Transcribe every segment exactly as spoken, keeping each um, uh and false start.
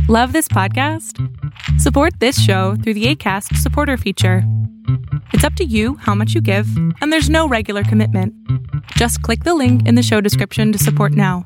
Love this podcast? Support this show through the Acast supporter feature. It's up to you how much you give, and there's no regular commitment. Just click the link in the show description to support now.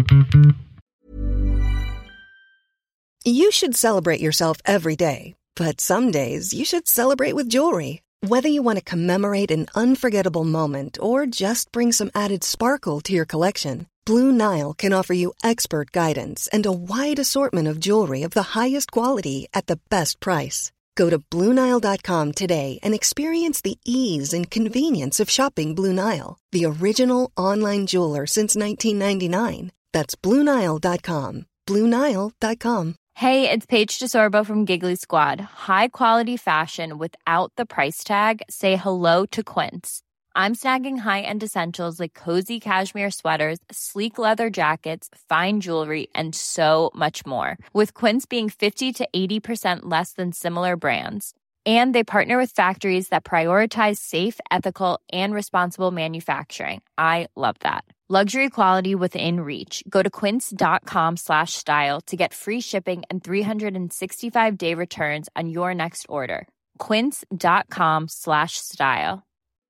You should celebrate yourself every day, but some days you should celebrate with jewelry. Whether you want to commemorate an unforgettable moment or just bring some added sparkle to your collection, Blue Nile can offer you expert guidance and a wide assortment of jewelry of the highest quality at the best price. Go to Blue Nile dot com today and experience the ease and convenience of shopping Blue Nile, the original online jeweler since nineteen ninety-nine. That's Blue Nile dot com. Blue Nile dot com. Hey, it's Paige DeSorbo from Giggly Squad. High quality fashion without the price tag. Say hello to Quince. I'm snagging high-end essentials like cozy cashmere sweaters, sleek leather jackets, fine jewelry, and so much more. With Quince being fifty to eighty percent less than similar brands. And they partner with factories that prioritize safe, ethical, and responsible manufacturing. I love that. Luxury quality within reach. Go to quince.com slash style to get free shipping and three sixty-five day returns on your next order. Quince.com slash style.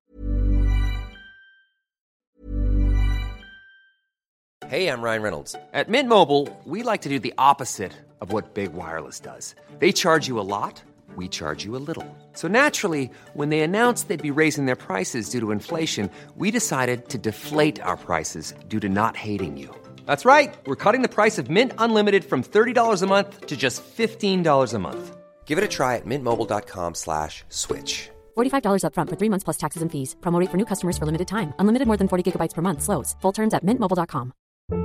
Hey, I'm Ryan Reynolds. At Mint Mobile, we like to do the opposite of what Big Wireless does. They charge you a lot, we charge you a little. So naturally, when they announced they'd be raising their prices due to inflation, we decided to deflate our prices due to not hating you. That's right. We're cutting the price of Mint Unlimited from thirty dollars a month to just fifteen dollars a month. Give it a try at mintmobile.com slash switch. forty-five dollars up front for three months plus taxes and fees. Promo rate for new customers for limited time. Unlimited more than forty gigabytes per month. Slows full terms at mint mobile dot com.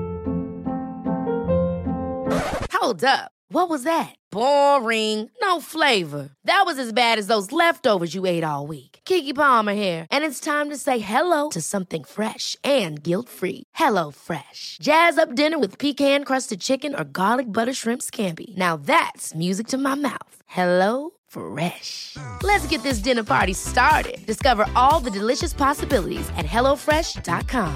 Hold up. What was that? Boring. No flavor. That was as bad as those leftovers you ate all week. Keke Palmer here. And it's time to say hello to something fresh and guilt-free. Hello Fresh. Jazz up dinner with pecan-crusted chicken or garlic butter shrimp scampi. Now that's music to my mouth. Hello Fresh. Let's get this dinner party started. Discover all the delicious possibilities at hello fresh dot com.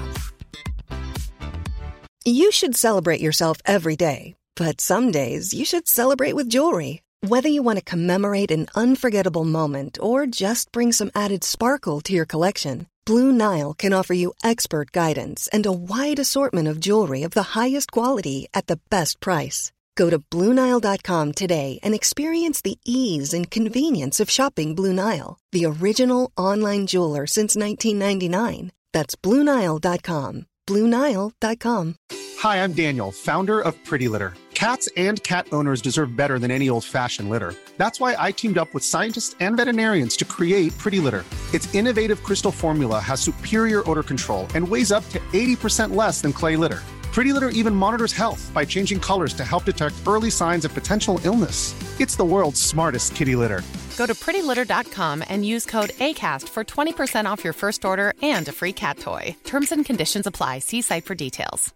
You should celebrate yourself every day, but some days you should celebrate with jewelry. Whether you want to commemorate an unforgettable moment or just bring some added sparkle to your collection, Blue Nile can offer you expert guidance and a wide assortment of jewelry of the highest quality at the best price. Go to Blue Nile dot com today and experience the ease and convenience of shopping Blue Nile, the original online jeweler since nineteen ninety-nine. That's Blue Nile dot com. Blue Nile dot com. Hi, I'm Daniel, founder of Pretty Litter. Cats and cat owners deserve better than any old-fashioned litter. That's why I teamed up with scientists and veterinarians to create Pretty Litter. Its innovative crystal formula has superior odor control and weighs up to eighty percent less than clay litter. Pretty Litter even monitors health by changing colors to help detect early signs of potential illness. It's the world's smartest kitty litter. Go to pretty litter dot com and use code ACAST for twenty percent off your first order and a free cat toy. Terms and conditions apply. See site for details.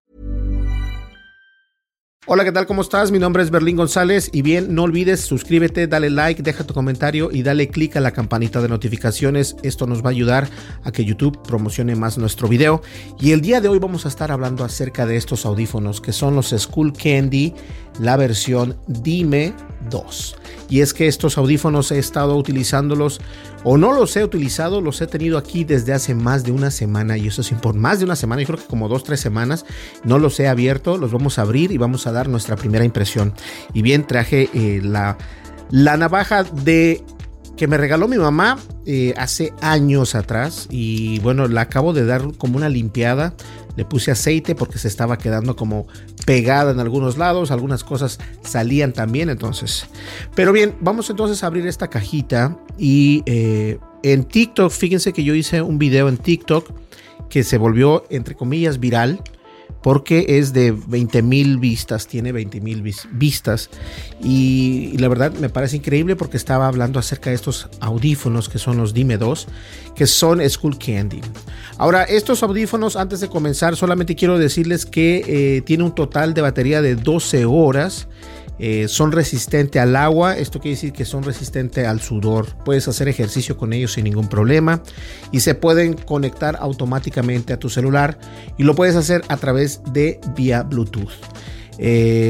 Hola, ¿qué tal? ¿Cómo estás? Mi nombre es Berlín González y bien, no olvides suscríbete, dale like, deja tu comentario y dale click a la campanita de notificaciones. Esto nos va a ayudar a que YouTube promocione más nuestro video. Y el día de hoy vamos a estar hablando acerca de estos audífonos que son los Skullcandy, la versión Dime dos. Y es que estos audífonos he estado utilizándolos o no los he utilizado, los he tenido aquí desde hace más de una semana y eso sí, por más de una semana, yo creo que como dos, tres semanas, no los he abierto, los vamos a abrir y vamos a dar nuestra primera impresión. Y bien, traje eh, la, la navaja de que me regaló mi mamá eh, hace años atrás y bueno, la acabo de dar como una limpiada. Le puse aceite porque se estaba quedando como pegada en algunos lados, algunas cosas salían también, entonces. Pero bien, vamos entonces a abrir esta cajita y eh, en TikTok, fíjense que yo hice un video en TikTok que se volvió, entre comillas, viral, porque es de veinte mil vistas, tiene veinte mil vis- vistas y, y la verdad me parece increíble porque estaba hablando acerca de estos audífonos que son los Dime dos, que son Skullcandy. Ahora, estos audífonos, antes de comenzar, solamente quiero decirles que eh, tiene un total de batería de doce horas. Eh, son resistentes al agua, esto quiere decir que son resistentes al sudor. Puedes hacer ejercicio con ellos sin ningún problema y se pueden conectar automáticamente a tu celular y lo puedes hacer a través de vía Bluetooth. Eh,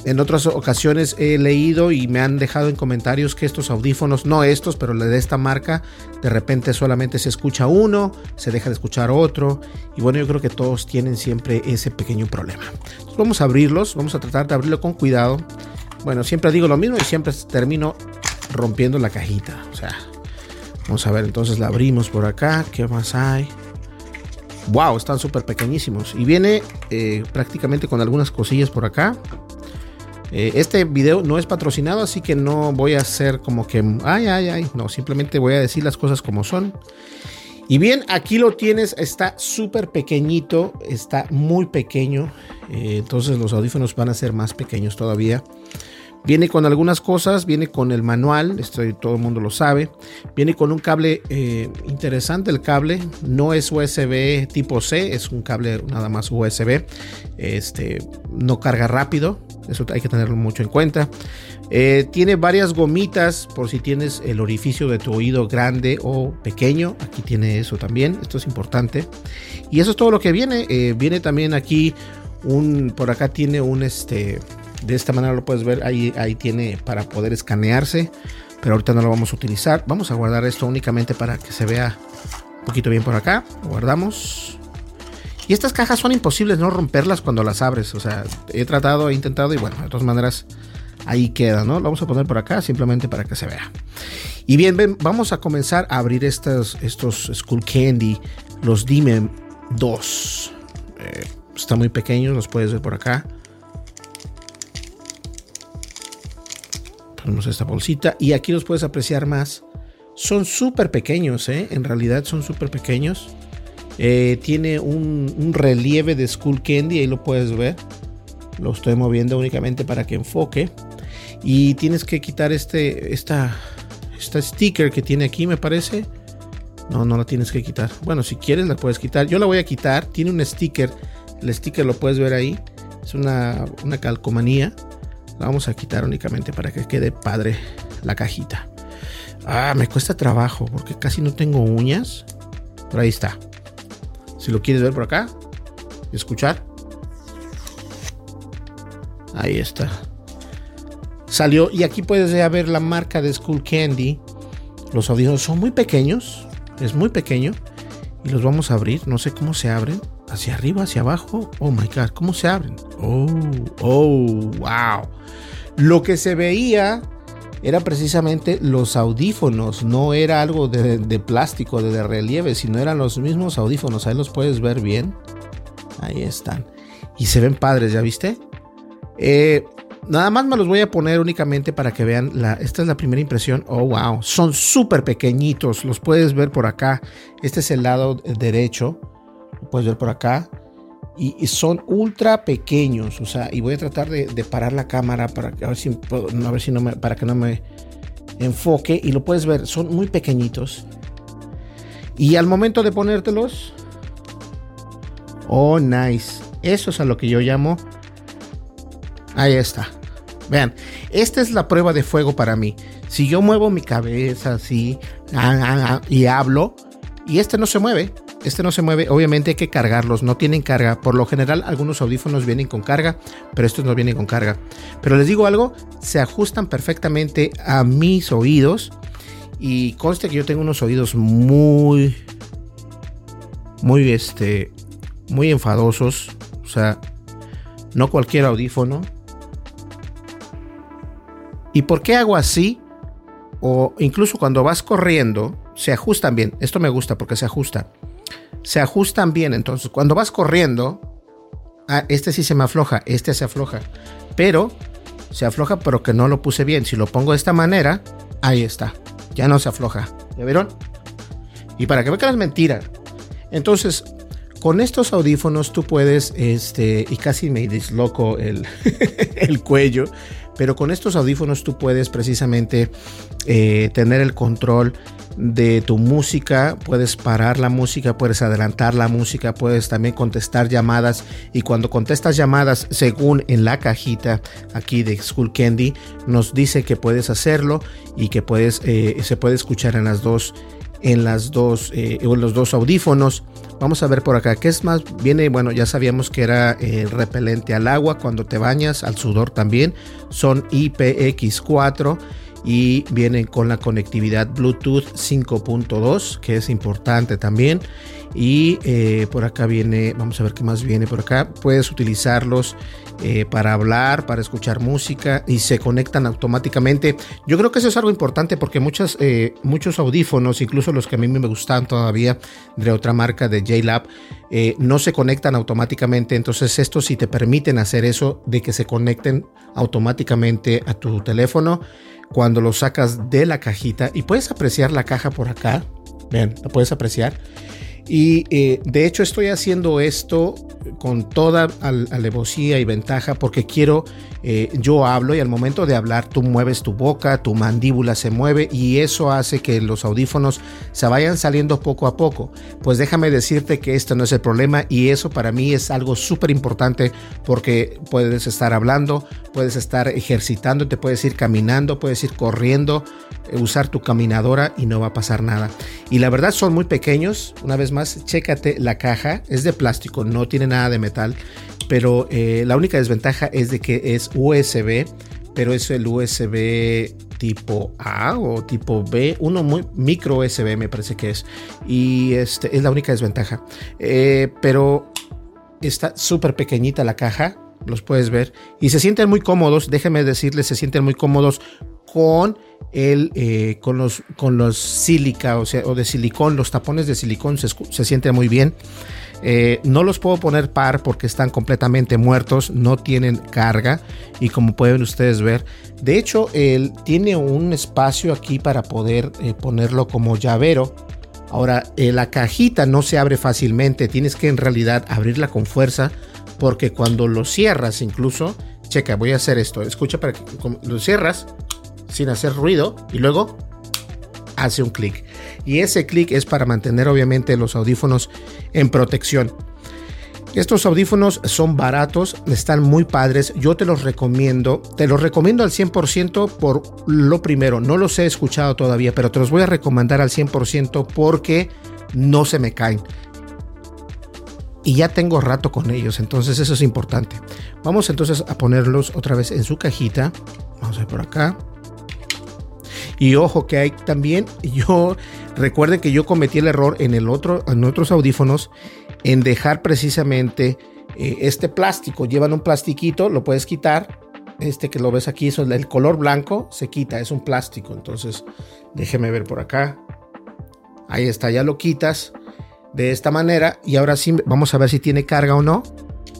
en otras ocasiones he leído y me han dejado en comentarios que estos audífonos, no estos, pero de esta marca, de repente solamente se escucha uno, se deja de escuchar otro. Y bueno, yo creo que todos tienen siempre ese pequeño problema. Entonces vamos a abrirlos, vamos a tratar de abrirlo con cuidado. Bueno, siempre digo lo mismo y siempre termino rompiendo la cajita. O sea, vamos a ver, entonces la abrimos por acá. ¿Qué más hay? Wow, están súper pequeñísimos. Y viene eh, prácticamente con algunas cosillas por acá. Eh, este video no es patrocinado, así que no voy a hacer como que ay, ay, ay. No, simplemente voy a decir las cosas como son. Y bien, aquí lo tienes. Está súper pequeñito. Está muy pequeño. Eh, entonces los audífonos van a ser más pequeños todavía. Viene con algunas cosas, viene con el manual, esto todo el mundo lo sabe. Viene con un cable eh, interesante, el cable no es U S B tipo C, es un cable nada más U S B. Este, no carga rápido, eso hay que tenerlo mucho en cuenta. Eh, tiene varias gomitas por si tienes el orificio de tu oído grande o pequeño. Aquí tiene eso también, esto es importante. Y eso es todo lo que viene. Eh, viene también aquí un, por acá tiene un este... De esta manera lo puedes ver, ahí, ahí tiene para poder escanearse, pero ahorita no lo vamos a utilizar. Vamos a guardar esto únicamente para que se vea un poquito bien por acá. Lo guardamos. Y estas cajas son imposibles no romperlas cuando las abres. O sea, he tratado, he intentado y bueno, de todas maneras ahí queda, ¿no? Lo vamos a poner por acá simplemente para que se vea. Y bien, ven, vamos a comenzar a abrir estos, estos Skullcandy, los Dime dos. Eh, están muy pequeños, los puedes ver por acá. Ponemos esta bolsita y aquí los puedes apreciar más. Son súper pequeños, ¿eh? En realidad son súper pequeños. Eh, tiene un, un relieve de Skullcandy, ahí lo puedes ver. Lo estoy moviendo únicamente para que enfoque. Y tienes que quitar este, esta, esta sticker que tiene aquí, me parece. No, no la tienes que quitar. Bueno, si quieres la puedes quitar. Yo la voy a quitar. Tiene un sticker. El sticker lo puedes ver ahí. Es una, una calcomanía. La vamos a quitar únicamente para que quede padre la cajita. Ah, me cuesta trabajo porque casi no tengo uñas. Por ahí está. Si lo quieres ver por acá, escuchar. Ahí está. Salió y aquí puedes ya ver la marca de Skullcandy. Los audífonos son muy pequeños. Es muy pequeño. Y los vamos a abrir. No sé cómo se abren. Hacia arriba, hacia abajo. Oh my God, ¿cómo se abren? Oh, oh, wow. Lo que se veía era precisamente los audífonos. No era algo de, de plástico, de, de relieve, sino eran los mismos audífonos. Ahí los puedes ver bien. Ahí están. Y se ven padres, ¿ya viste? Eh, nada más me los voy a poner únicamente para que vean. La, esta es la primera impresión. Oh, wow. Son súper pequeñitos. Los puedes ver por acá. Este es el lado derecho. Lo puedes ver por acá. Y, y son ultra pequeños. O sea, y voy a tratar de, de parar la cámara para que, a ver si, puedo, a ver si no me, para que no me enfoque. Y lo puedes ver. Son muy pequeñitos. Y al momento de ponértelos. Oh, nice. Eso es a lo que yo llamo. Ahí está. Vean. Esta es la prueba de fuego para mí. Si yo muevo mi cabeza así. Ah, ah, ah, y hablo. Y este no se mueve. Este no se mueve, obviamente hay que cargarlos, no tienen carga. Por lo general algunos audífonos vienen con carga, pero estos no vienen con carga. Pero les digo algo, se ajustan perfectamente a mis oídos. Y conste que yo tengo unos oídos muy, muy, este, muy enfadosos. O sea, no cualquier audífono. ¿Y por qué hago así? O incluso cuando vas corriendo, se ajustan bien. Esto me gusta porque se ajusta. Se ajustan bien, entonces cuando vas corriendo, ah, este sí se me afloja, este se afloja, pero se afloja, pero que no lo puse bien. Si lo pongo de esta manera, ahí está, ya no se afloja. ¿Ya vieron? Y para que vean que no es mentira. Entonces, con estos audífonos tú puedes, este, y casi me disloco el, el cuello, pero con estos audífonos tú puedes precisamente eh, tener el control de tu música, puedes parar la música, puedes adelantar la música, puedes también contestar llamadas. Y cuando contestas llamadas, según en la cajita aquí de Skullcandy, nos dice que puedes hacerlo y que puedes, eh, se puede escuchar en las dos, en las dos, eh, en los dos audífonos. Vamos a ver por acá, ¿qué es más? Viene, bueno, ya sabíamos que era eh, repelente al agua cuando te bañas, al sudor también. Son I P X cuatro y vienen con la conectividad Bluetooth cinco punto dos, que es importante también. Y eh, por acá viene, vamos a ver qué más viene por acá. Puedes utilizarlos eh, para hablar, para escuchar música y se conectan automáticamente. Yo creo que eso es algo importante porque muchas, eh, muchos audífonos, incluso los que a mí me gustan todavía de otra marca de J-Lab, eh, no se conectan automáticamente. Entonces estos sí te permiten hacer eso de que se conecten automáticamente a tu teléfono cuando lo sacas de la cajita. Y puedes apreciar la caja por acá. Vean, la puedes apreciar. Y eh, de hecho estoy haciendo esto con toda al- alevosía y ventaja porque quiero, eh, yo hablo y al momento de hablar tú mueves tu boca, tu mandíbula se mueve y eso hace que los audífonos se vayan saliendo poco a poco. Pues déjame decirte que esto no es el problema y eso para mí es algo súper importante porque puedes estar hablando, puedes estar ejercitándote, puedes ir caminando, puedes ir corriendo, eh, usar tu caminadora y no va a pasar nada. Y la verdad son muy pequeños. Una vez más, chécate la caja, es de plástico, no tiene nada de metal, pero eh, la única desventaja es de que es U S B, pero es el U S B tipo A o tipo B, uno muy micro U S B me parece que es, y este es la única desventaja, eh, pero está súper pequeñita la caja, los puedes ver, y se sienten muy cómodos, déjenme decirles, se sienten muy cómodos con el eh, con los con los sílica, o sea, o de silicón, los tapones de silicón se, se sienten muy bien. Eh, no los puedo poner par porque están completamente muertos, no tienen carga y como pueden ustedes ver, de hecho él tiene un espacio aquí para poder eh, ponerlo como llavero. Ahora eh, la cajita no se abre fácilmente, tienes que en realidad abrirla con fuerza porque cuando lo cierras incluso, checa, voy a hacer esto, escucha para que lo cierras sin hacer ruido y luego hace un clic y ese clic es para mantener obviamente los audífonos en protección. Estos audífonos son baratos, están muy padres, yo te los recomiendo, te los recomiendo al cien por ciento por lo primero, no los he escuchado todavía, pero te los voy a recomendar al cien por ciento porque no se me caen. Y ya tengo rato con ellos, entonces eso es importante. Vamos entonces a ponerlos otra vez en su cajita. Vamos a ver por acá. Y ojo que hay también, yo recuerden que yo cometí el error en el otro, en otros audífonos, en dejar precisamente eh, este plástico. Llevan un plastiquito, lo puedes quitar. Este que lo ves aquí, eso, el color blanco se quita, es un plástico. Entonces, déjeme ver por acá. Ahí está, ya lo quitas de esta manera. Y ahora sí, vamos a ver si tiene carga o no.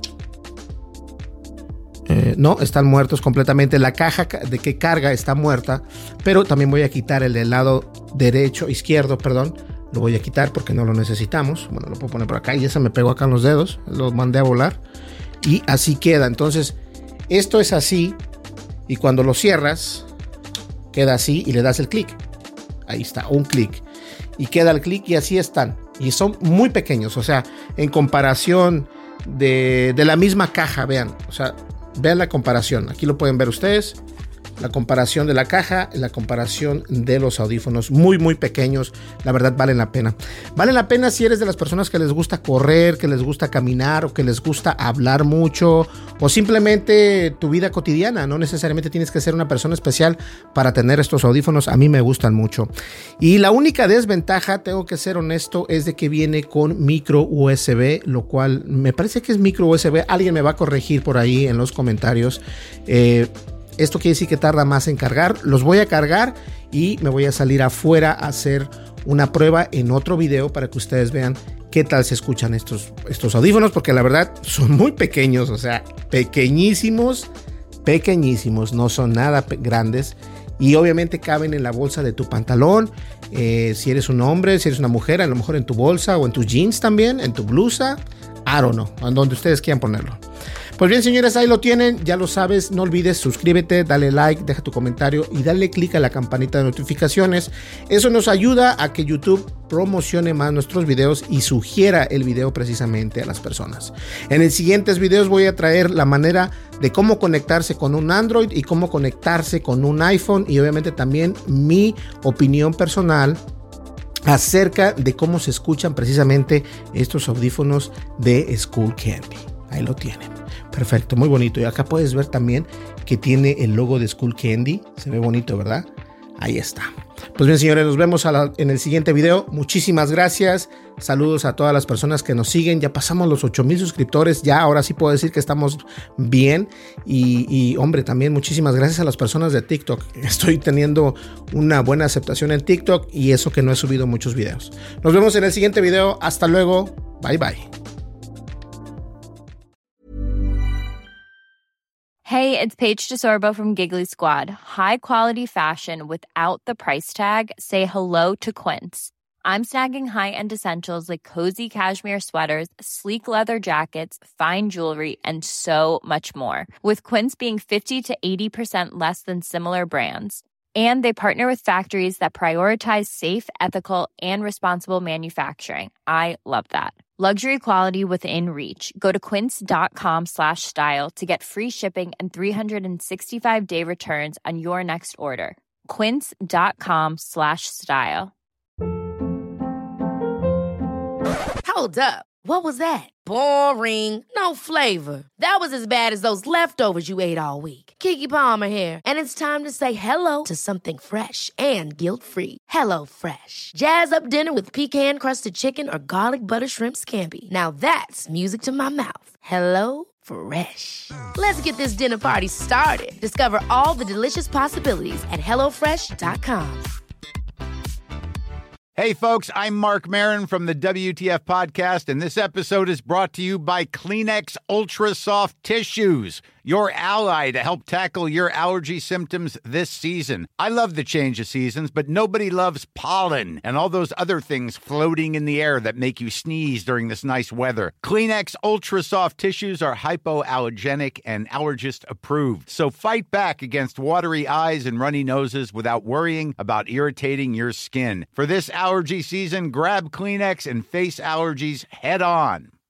Eh, no, están muertos completamente. La caja de que carga está muerta, pero también voy a quitar el del lado derecho, izquierdo, perdón. Lo voy a quitar porque no lo necesitamos. Bueno, lo puedo poner por acá y ya se me pegó acá en los dedos. Lo mandé a volar y así queda. Entonces, esto es así y cuando lo cierras, queda así y le das el clic. Ahí está, un clic. Y queda el clic y así están. Y son muy pequeños, o sea, en comparación de, de la misma caja, vean. O sea, vean la comparación, aquí lo pueden ver ustedes, la comparación de la caja, la comparación de los audífonos, muy muy pequeños, la verdad valen la pena. Valen la pena si eres de las personas que les gusta correr, que les gusta caminar o que les gusta hablar mucho o simplemente tu vida cotidiana, no necesariamente tienes que ser una persona especial para tener estos audífonos, a mí me gustan mucho. Y la única desventaja, tengo que ser honesto, es de que viene con micro U S B, lo cual me parece que es micro U S B, alguien me va a corregir por ahí en los comentarios. eh, Esto quiere decir que tarda más en cargar. Los voy a cargar y me voy a salir afuera a hacer una prueba en otro video para que ustedes vean qué tal se escuchan estos, estos audífonos, porque la verdad son muy pequeños, o sea, pequeñísimos, pequeñísimos, no son nada grandes y obviamente caben en la bolsa de tu pantalón. Eh, si eres un hombre, si eres una mujer, a lo mejor en tu bolsa o en tus jeans también, en tu blusa, I don't know, en donde ustedes quieran ponerlo. Pues bien, señores, ahí lo tienen, ya lo sabes, no olvides suscríbete, dale like, deja tu comentario y dale click a la campanita de notificaciones. Eso nos ayuda a que YouTube promocione más nuestros videos y sugiera el video precisamente a las personas. En los siguientes videos voy a traer la manera de cómo conectarse con un Android y cómo conectarse con un iPhone y obviamente también mi opinión personal acerca de cómo se escuchan precisamente estos audífonos de Skullcandy. Ahí lo tienen. Perfecto, muy bonito. Y acá puedes ver también que tiene el logo de Skullcandy. Se ve bonito, ¿verdad? Ahí está. Pues bien, señores, nos vemos a la, en el siguiente video. Muchísimas gracias. Saludos a todas las personas que nos siguen. Ya pasamos los ocho mil suscriptores. Ya ahora sí puedo decir que estamos bien. Y, y hombre, también muchísimas gracias a las personas de TikTok. Estoy teniendo una buena aceptación en TikTok y eso que no he subido muchos videos. Nos vemos en el siguiente video. Hasta luego. Bye, bye. Hey, it's Paige DeSorbo from Giggly Squad. High quality fashion without the price tag. Say hello to Quince. I'm snagging high-end essentials like cozy cashmere sweaters, sleek leather jackets, fine jewelry, and so much more. With Quince being fifty to eighty percent less than similar brands. And they partner with factories that prioritize safe, ethical, and responsible manufacturing. I love that. Luxury quality within reach. Go to quince.com slash style to get free shipping and three sixty-five day returns on your next order. Quince.com slash style. Hold up. What was that? Boring. No flavor. That was as bad as those leftovers you ate all week. Keke Palmer here, and it's time to say hello to something fresh and guilt-free. Hello Fresh. Jazz up dinner with pecan-crusted chicken or garlic butter shrimp scampi. Now that's music to my mouth. Hello Fresh. Let's get this dinner party started. Discover all the delicious possibilities at hello fresh dot com. Hey, folks, I'm Mark Maron from the W T F Podcast, and this episode is brought to you by Kleenex Ultra Soft Tissues, your ally to help tackle your allergy symptoms this season. I love the change of seasons, but nobody loves pollen and all those other things floating in the air that make you sneeze during this nice weather. Kleenex Ultra Soft Tissues are hypoallergenic and allergist approved, so fight back against watery eyes and runny noses without worrying about irritating your skin. For this allergy season, grab Kleenex and face allergies head on.